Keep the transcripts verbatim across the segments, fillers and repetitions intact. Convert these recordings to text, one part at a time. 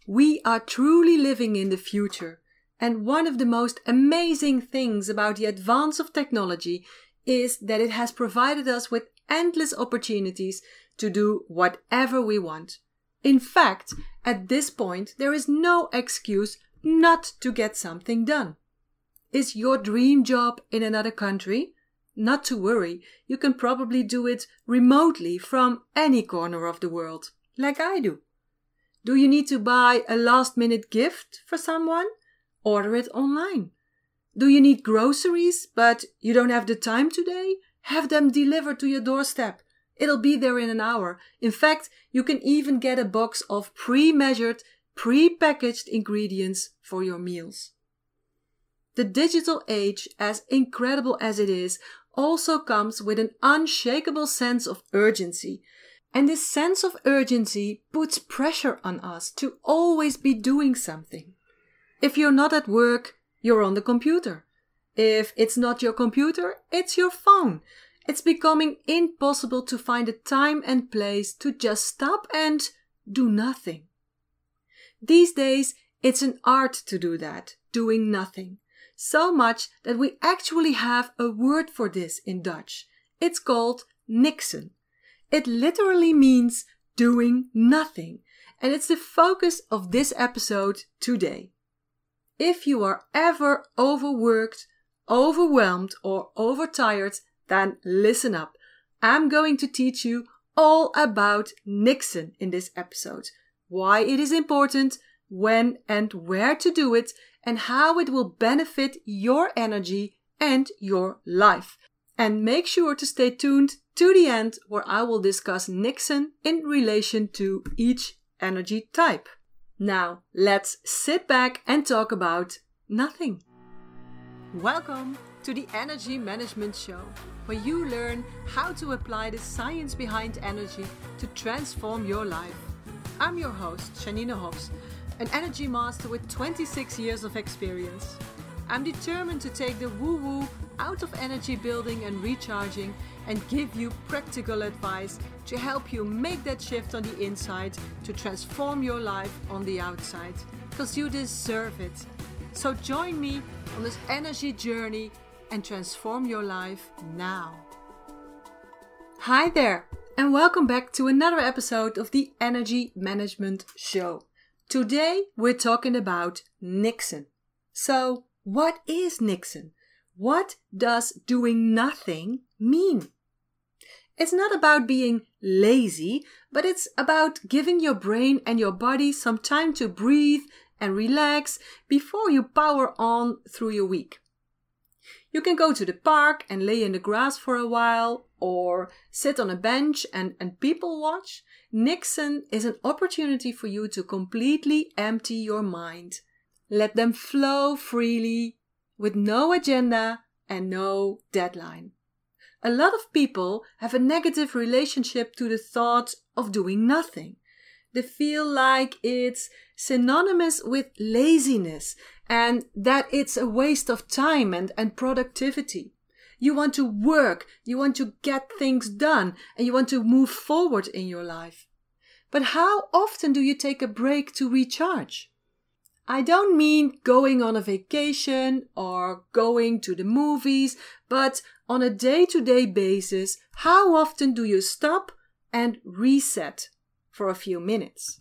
We are truly living in the future, and one of the most amazing things about the advance of technology is that it has provided us with endless opportunities to do whatever we want. In fact, at this point, there is no excuse not to get something done. Is your dream job in another country? Not to worry, you can probably do it remotely from any corner of the world, like I do. Do you need to buy a last-minute gift for someone? Order it online. Do you need groceries, but you don't have the time today? Have them delivered to your doorstep. It'll be there in an hour. In fact, you can even get a box of pre-measured, pre-packaged ingredients for your meals. The digital age, as incredible as it is, also comes with an unshakable sense of urgency. And this sense of urgency puts pressure on us to always be doing something. If you're not at work, you're on the computer. If it's not your computer, it's your phone. It's becoming impossible to find a time and place to just stop and do nothing. These days, it's an art to do that, doing nothing. So much that we actually have a word for this in Dutch. It's called niksen. It literally means doing nothing, and it's the focus of this episode today. If you are ever overworked, overwhelmed, or overtired, then listen up. I'm going to teach you all about niksen in this episode. Why it is important, when and where to do it, and how it will benefit your energy and your life. And make sure to stay tuned to the end, where I will discuss niksen in relation to each energy type. Now, let's sit back and talk about nothing. Welcome to the Energy Management Show, where you learn how to apply the science behind energy to transform your life. I'm your host, Janine Hofs, an energy master with twenty-six years of experience. I'm determined to take the woo-woo out of energy building and recharging and give you practical advice to help you make that shift on the inside to transform your life on the outside, because you deserve it. So join me on this energy journey and transform your life now. Hi there, and welcome back to another episode of the Energy Management Show. Today we're talking about niksen. So, what is niksen? What does doing nothing mean? It's not about being lazy, but it's about giving your brain and your body some time to breathe and relax before you power on through your week. You can go to the park and lay in the grass for a while, or sit on a bench and, and people watch. Niksen is an opportunity for you to completely empty your mind. Let them flow freely, with no agenda and no deadline. A lot of people have a negative relationship to the thought of doing nothing. They feel like it's synonymous with laziness and that it's a waste of time and, and productivity. You want to work, you want to get things done, and you want to move forward in your life. But how often do you take a break to recharge? I don't mean going on a vacation or going to the movies, but on a day-to-day basis, how often do you stop and reset for a few minutes?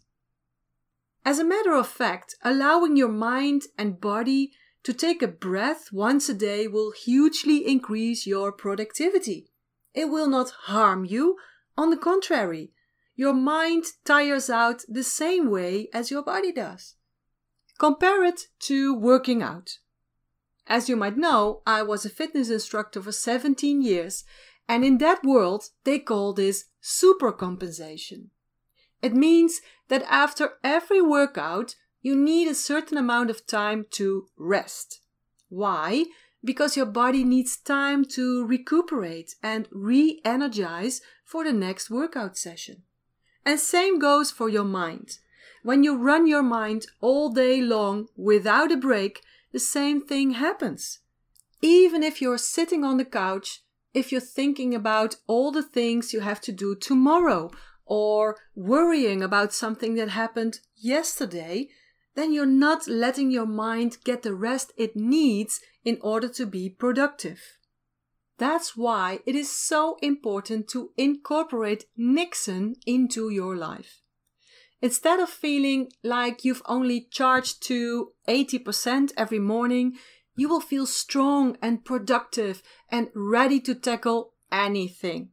As a matter of fact, allowing your mind and body to take a breath once a day will hugely increase your productivity. It will not harm you. On the contrary, your mind tires out the same way as your body does. Compare it to working out. As you might know, I was a fitness instructor for seventeen years, and in that world, they call this supercompensation. It means that after every workout, you need a certain amount of time to rest. Why? Because your body needs time to recuperate and re-energize for the next workout session. And same goes for your mind. When you run your mind all day long without a break, the same thing happens. Even if you're sitting on the couch, if you're thinking about all the things you have to do tomorrow, or worrying about something that happened yesterday, then you're not letting your mind get the rest it needs in order to be productive. That's why it is so important to incorporate Niksen into your life. Instead of feeling like you've only charged to eighty percent every morning, you will feel strong and productive and ready to tackle anything.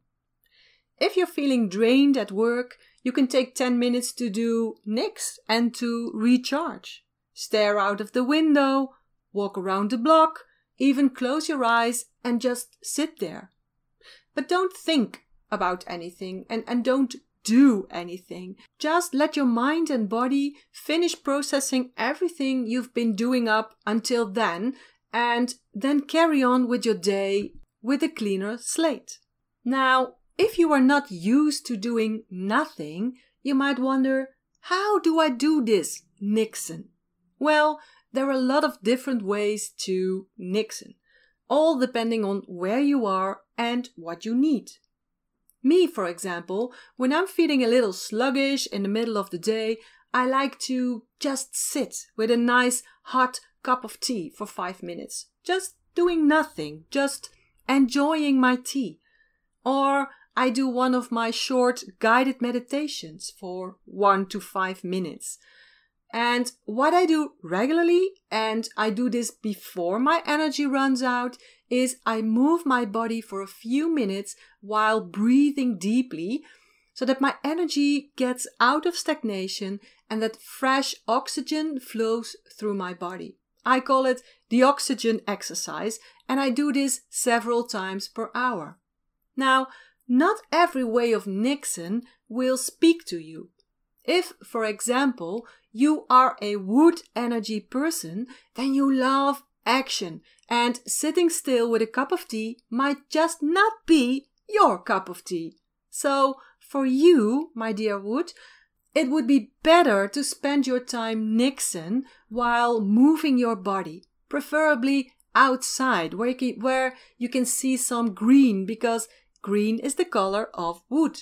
If you're feeling drained at work, you can take ten minutes to do Nix and to recharge. Stare out of the window, walk around the block, even close your eyes and just sit there. But don't think about anything and, and don't do anything. Just let your mind and body finish processing everything you've been doing up until then, and then carry on with your day with a cleaner slate. Now, if you are not used to doing nothing, you might wonder, how do I do this Niksen? Well, there are a lot of different ways to Niksen, all depending on where you are and what you need. Me, for example, when I'm feeling a little sluggish in the middle of the day, I like to just sit with a nice hot cup of tea for five minutes, just doing nothing, just enjoying my tea. Or I do one of my short guided meditations for one to five minutes. And what I do regularly, and I do this before my energy runs out, is I move my body for a few minutes while breathing deeply so that my energy gets out of stagnation and that fresh oxygen flows through my body. I call it the oxygen exercise, and I do this several times per hour. Now, not every way of Niksen will speak to you. If, for example, you are a wood energy person, then you love action, and sitting still with a cup of tea might just not be your cup of tea. So, for you, my dear wood, it would be better to spend your time Niksen while moving your body, preferably outside where you can, where you can see some green, because green is the color of wood.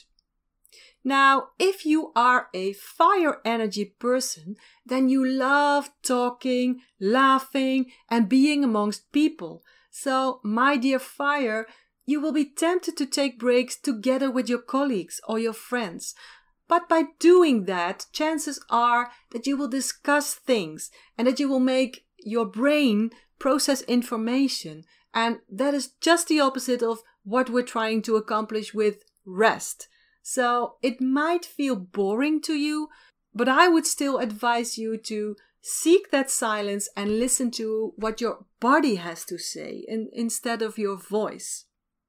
Now, if you are a fire energy person, then you love talking, laughing, and being amongst people. So, my dear fire, you will be tempted to take breaks together with your colleagues or your friends. But by doing that, chances are that you will discuss things and that you will make your brain process information. And that is just the opposite of what we're trying to accomplish with rest. So it might feel boring to you, but I would still advise you to seek that silence and listen to what your body has to say in, instead of your voice.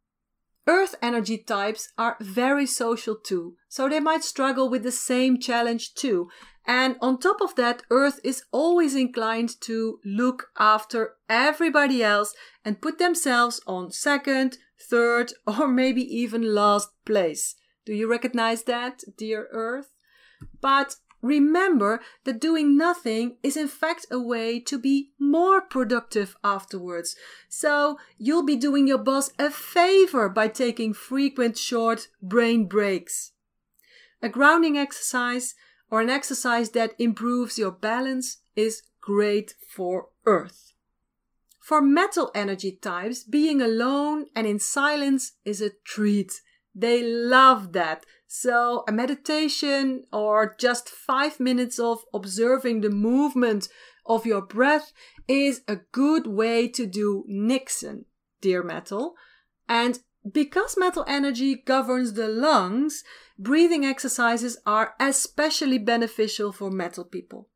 Earth energy types are very social too, so they might struggle with the same challenge too. And on top of that, Earth is always inclined to look after everybody else and put themselves on second, third, or maybe even last place. Do you recognize that, dear Earth? But remember that doing nothing is in fact a way to be more productive afterwards. So you'll be doing your boss a favor by taking frequent short brain breaks. A grounding exercise or an exercise that improves your balance is great for Earth. For metal energy types, being alone and in silence is a treat. They love that. So a meditation or just five minutes of observing the movement of your breath is a good way to do Niksen, dear metal. And because metal energy governs the lungs, breathing exercises are especially beneficial for metal people.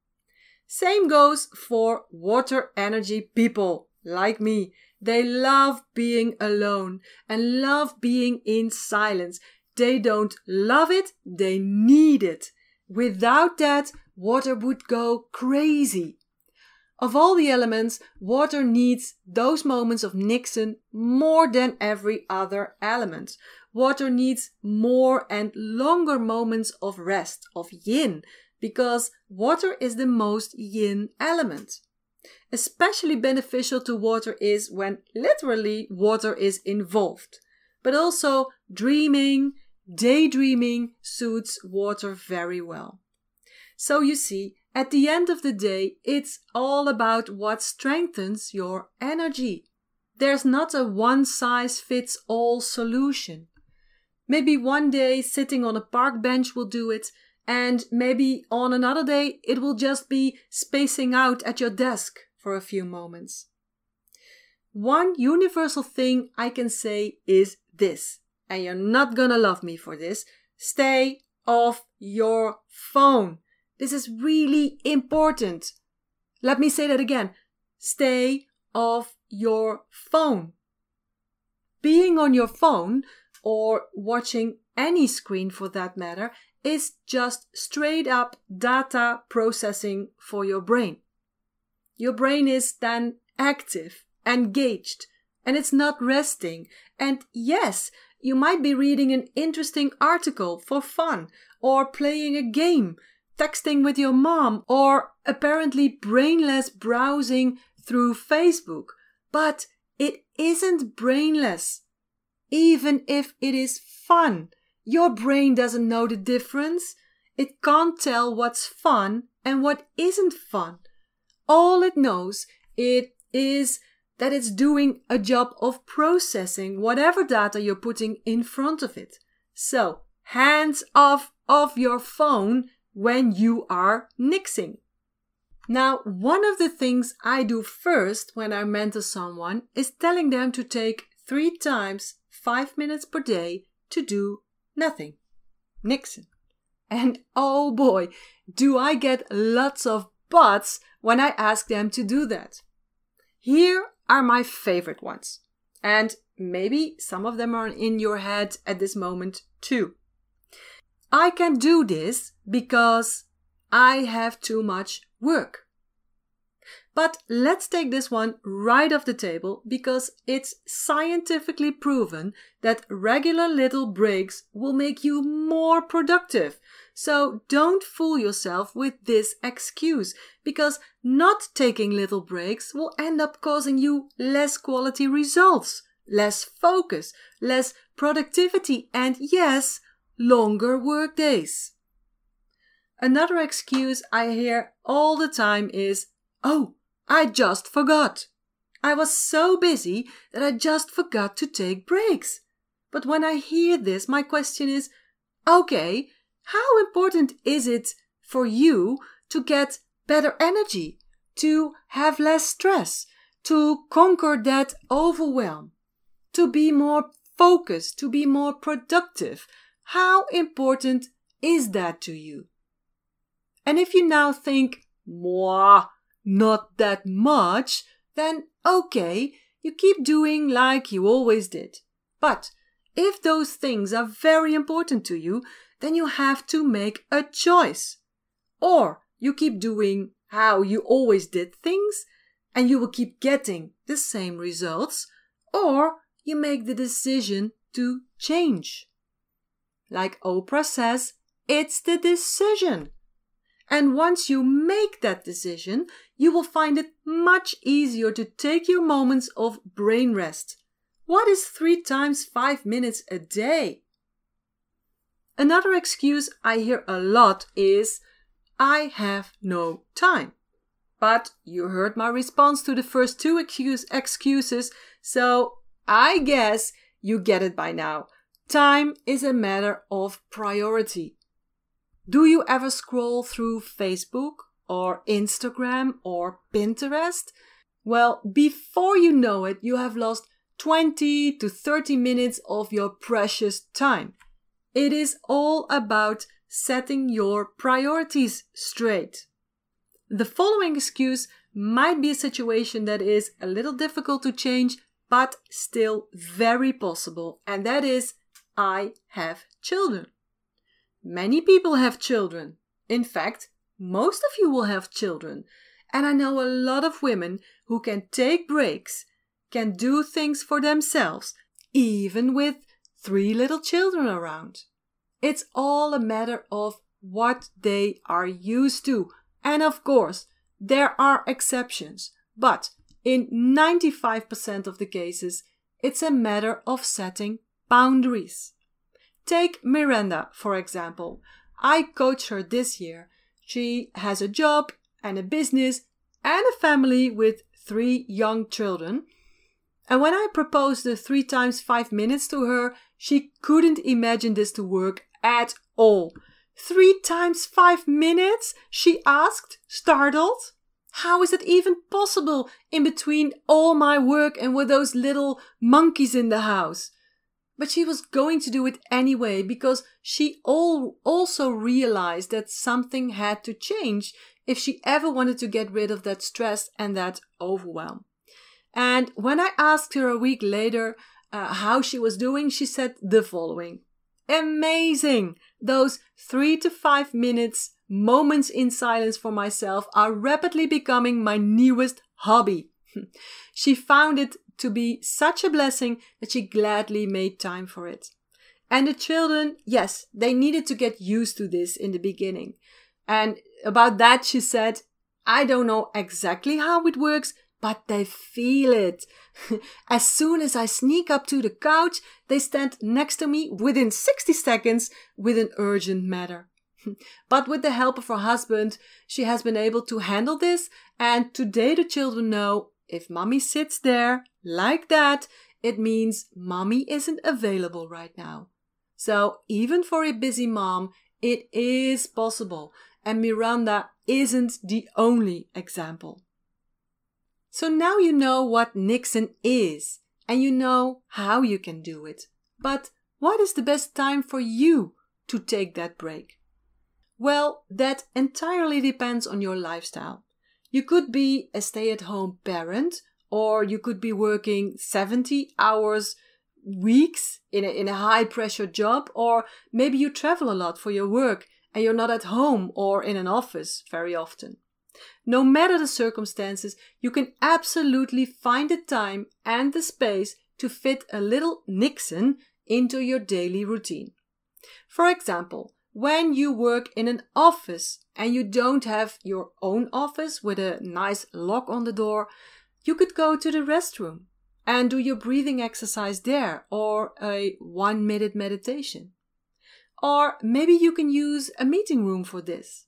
Same goes for water energy people like me. They love being alone and love being in silence. They don't love it, they need it. Without that, water would go crazy. Of all the elements, water needs those moments of Niksen more than every other element. Water needs more and longer moments of rest, of yin, because water is the most yin element. Especially beneficial to water is when literally water is involved, but also dreaming, daydreaming suits water very well. So you see, at the end of the day, it's all about what strengthens your energy. There's not a one-size-fits-all solution. Maybe one day sitting on a park bench will do it, and maybe on another day it will just be spacing out at your desk for a few moments. One universal thing I can say is this, and you're not gonna love me for this: stay off your phone. This is really important. Let me say that again. Stay off your phone. Being on your phone, or watching any screen for that matter, is just straight up data processing for your brain. Your brain is then active, engaged, and it's not resting. And yes, you might be reading an interesting article for fun, or playing a game, texting with your mom, or apparently brainless browsing through Facebook. But it isn't brainless. Even if it is fun, your brain doesn't know the difference. It can't tell what's fun and what isn't fun. All it knows it is that it's doing a job of processing whatever data you're putting in front of it. So, hands off of your phone when you are nixing. Now, one of the things I do first when I mentor someone is telling them to take three times five minutes per day to do nothing. Nixing. And oh boy, do I get lots of buts when I ask them to do that. Here are my favorite ones. And maybe some of them are in your head at this moment too. I can do this because I have too much work. But let's take this one right off the table because it's scientifically proven that regular little breaks will make you more productive. So don't fool yourself with this excuse, because not taking little breaks will end up causing you less quality results, less focus, less productivity, and yes, longer work days. Another excuse I hear all the time is, "Oh, I just forgot. I was so busy that I just forgot to take breaks." But when I hear this, my question is, okay, how important is it for you to get better energy, to have less stress, to conquer that overwhelm, to be more focused, to be more productive? How important is that to you? And if you now think, "Mwah, not that much," then okay, you keep doing like you always did. But if those things are very important to you, then you have to make a choice. Or you keep doing how you always did things, and you will keep getting the same results, or you make the decision to change. Like Oprah says, it's the decision. And once you make that decision, you will find it much easier to take your moments of brain rest. What is three times five minutes a day? Another excuse I hear a lot is, "I have no time." But you heard my response to the first two excuse, excuses, so I guess you get it by now. Time is a matter of priority. Do you ever scroll through Facebook or Instagram or Pinterest? Well, before you know it, you have lost twenty to thirty minutes of your precious time. It is all about setting your priorities straight. The following excuse might be a situation that is a little difficult to change, but still very possible, and that is, I have children. Many people have children. In fact, most of you will have children. And I know a lot of women who can take breaks, can do things for themselves, even with three little children around. It's all a matter of what they are used to. And of course, there are exceptions. But in ninety-five percent of the cases, it's a matter of setting boundaries. Take Miranda, for example. I coach her this year. She has a job and a business and a family with three young children. And when I proposed the three times five minutes to her, she couldn't imagine this to work at all. Three times five minutes? She asked, startled. How is it even possible in between all my work and with those little monkeys in the house? But she was going to do it anyway because she all also realized that something had to change if she ever wanted to get rid of that stress and that overwhelm. And when I asked her a week later uh, how she was doing, she said the following. Amazing! Those three to five minutes moments in silence for myself are rapidly becoming my newest hobby. She found it to be such a blessing that she gladly made time for it. And the children, yes, they needed to get used to this in the beginning. And about that she said, I don't know exactly how it works, but they feel it. As soon as I sneak up to the couch, they stand next to me within sixty seconds with an urgent matter. But with the help of her husband, she has been able to handle this, and today the children know if mommy sits there like that, it means mommy isn't available right now. So even for a busy mom, it is possible, and Miranda isn't the only example. So now you know what Niksen is, and you know how you can do it. But what is the best time for you to take that break? Well, that entirely depends on your lifestyle. You could be a stay-at-home parent, or you could be working seventy hours weeks in a, in a high-pressure job, or maybe you travel a lot for your work and you're not at home or in an office very often. No matter the circumstances, you can absolutely find the time and the space to fit a little Niksen into your daily routine. For example, when you work in an office and you don't have your own office with a nice lock on the door, you could go to the restroom and do your breathing exercise there, or a one minute meditation. Or maybe you can use a meeting room for this.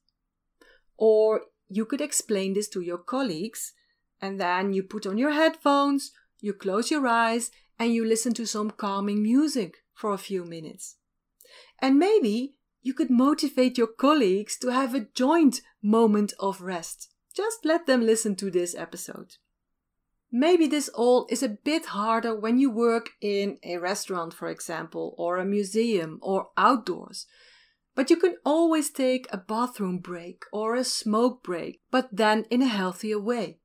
Or you could explain this to your colleagues, and then you put on your headphones, you close your eyes, and you listen to some calming music for a few minutes. And maybe you could motivate your colleagues to have a joint moment of rest. Just let them listen to this episode. Maybe this all is a bit harder when you work in a restaurant, for example, or a museum, or outdoors. But you can always take a bathroom break or a smoke break, but then in a healthier way.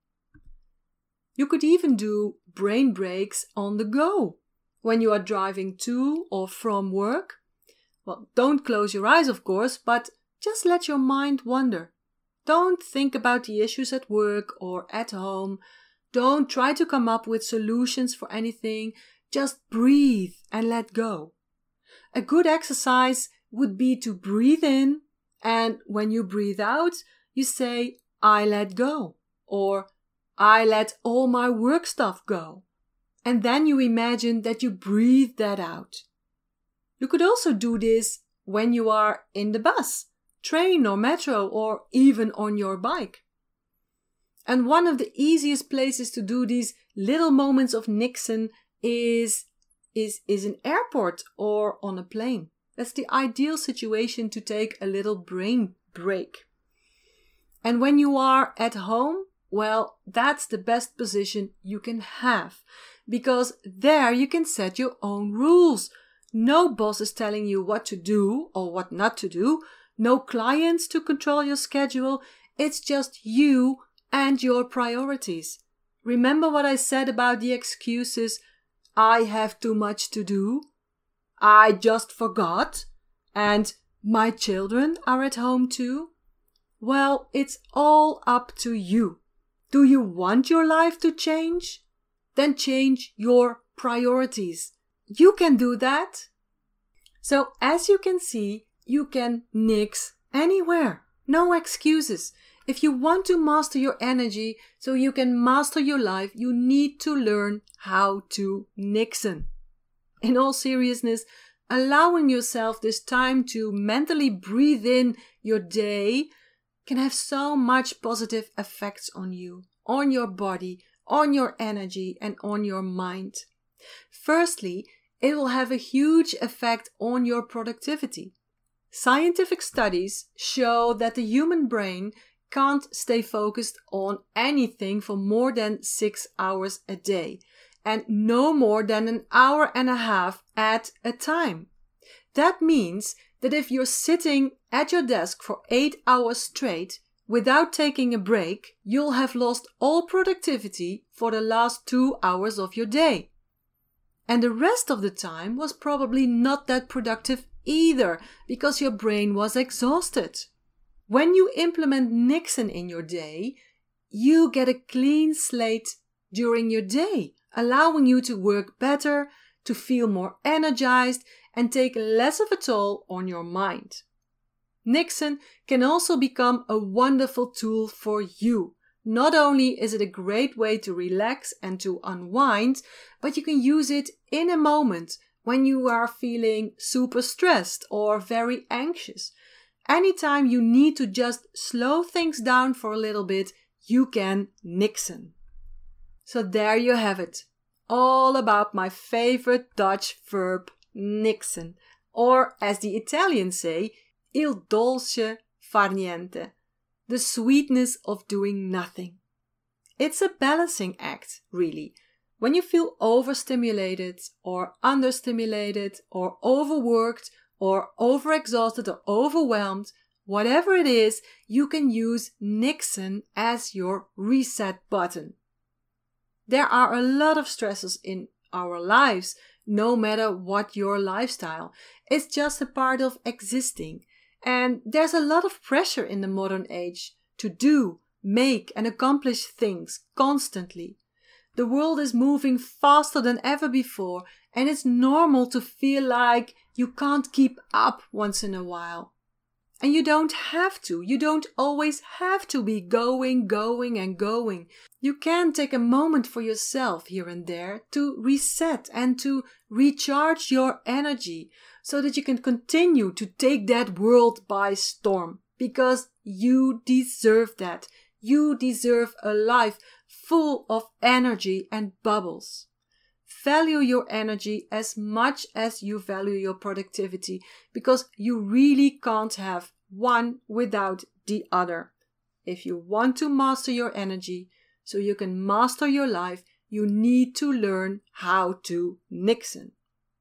You could even do brain breaks on the go when you are driving to or from work. Well, don't close your eyes, of course, but just let your mind wander. Don't think about the issues at work or at home. Don't try to come up with solutions for anything. Just breathe and let go. A good exercise would be to breathe in, and when you breathe out, you say, I let go, or I let all my work stuff go. And then you imagine that you breathe that out. You could also do this when you are in the bus, train or metro, or even on your bike. And one of the easiest places to do these little moments of Niksen is, is, is an airport or on a plane. That's the ideal situation to take a little brain break. And when you are at home, well, that's the best position you can have, because there you can set your own rules. No boss is telling you what to do or what not to do. No clients to control your schedule. It's just you and your priorities. Remember what I said about the excuses? I have too much to do. I just forgot. And my children are at home too. Well, it's all up to you. Do you want your life to change? Then change your priorities. You can do that. So as you can see, you can nix anywhere. No excuses. If you want to master your energy so you can master your life, you need to learn how to Niksen. In all seriousness, allowing yourself this time to mentally breathe in your day can have so much positive effects on you, on your body, on your energy, and on your mind. Firstly, it will have a huge effect on your productivity. Scientific studies show that the human brain can't stay focused on anything for more than six hours a day, and no more than an hour and a half at a time. That means that if you're sitting at your desk for eight hours straight without taking a break, you'll have lost all productivity for the last two hours of your day. And the rest of the time was probably not that productive either, because your brain was exhausted. When you implement Niksen in your day, you get a clean slate during your day, allowing you to work better, to feel more energized, and take less of a toll on your mind. Niksen can also become a wonderful tool for you. Not only is it a great way to relax and to unwind, but you can use it in a moment when you are feeling super stressed or very anxious. Anytime you need to just slow things down for a little bit, you can Niksen. So there you have it. All about my favorite Dutch verb, Niksen. Or as the Italians say, il dolce far niente. The sweetness of doing nothing. It's a balancing act, really. When you feel overstimulated or understimulated or overworked or overexhausted or overwhelmed, whatever it is, you can use Niksen as your reset button. There are a lot of stresses in our lives, no matter what your lifestyle. It's just a part of existing. And there's a lot of pressure in the modern age to do, make, and accomplish things constantly. The world is moving faster than ever before, and it's normal to feel like you can't keep up once in a while. And you don't have to. You don't always have to be going, going, and going. You can take a moment for yourself here and there to reset and to recharge your energy so that you can continue to take that world by storm. Because you deserve that. You deserve a life full of energy and bubbles. Value your energy as much as you value your productivity, because you really can't have one without the other. If you want to master your energy so you can master your life, you need to learn how to Niksen.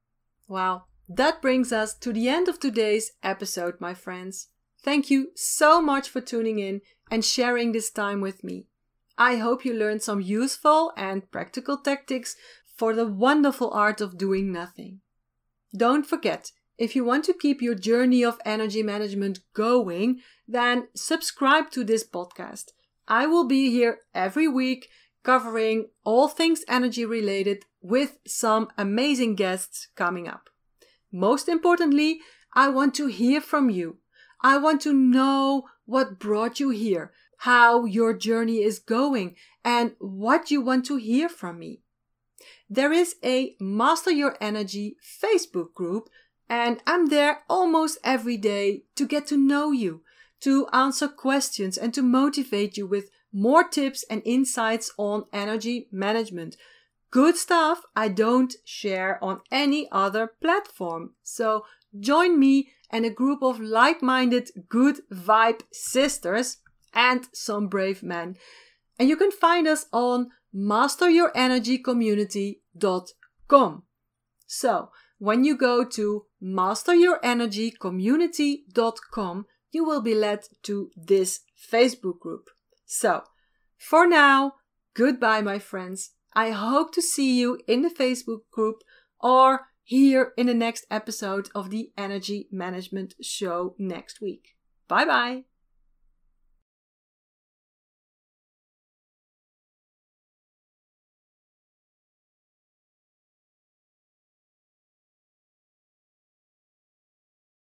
Well, that brings us to the end of today's episode, my friends. Thank you so much for tuning in and sharing this time with me. I hope you learned some useful and practical tactics for the wonderful art of doing nothing. Don't forget, if you want to keep your journey of energy management going, then subscribe to this podcast. I will be here every week covering all things energy related with some amazing guests coming up. Most importantly, I want to hear from you. I want to know what brought you here, how your journey is going, and what you want to hear from me. There is a Master Your Energy Facebook group, and I'm there almost every day to get to know you, to answer questions, and to motivate you with more tips and insights on energy management. Good stuff I don't share on any other platform. So join me and a group of like-minded good vibe sisters and some brave men. And you can find us on master your energy community dot com. So when you go to master your energy community dot com, you will be led to this Facebook group. So for now, goodbye, my friends. I hope to see you in the Facebook group or here in the next episode of the Energy Management Show next week. Bye bye.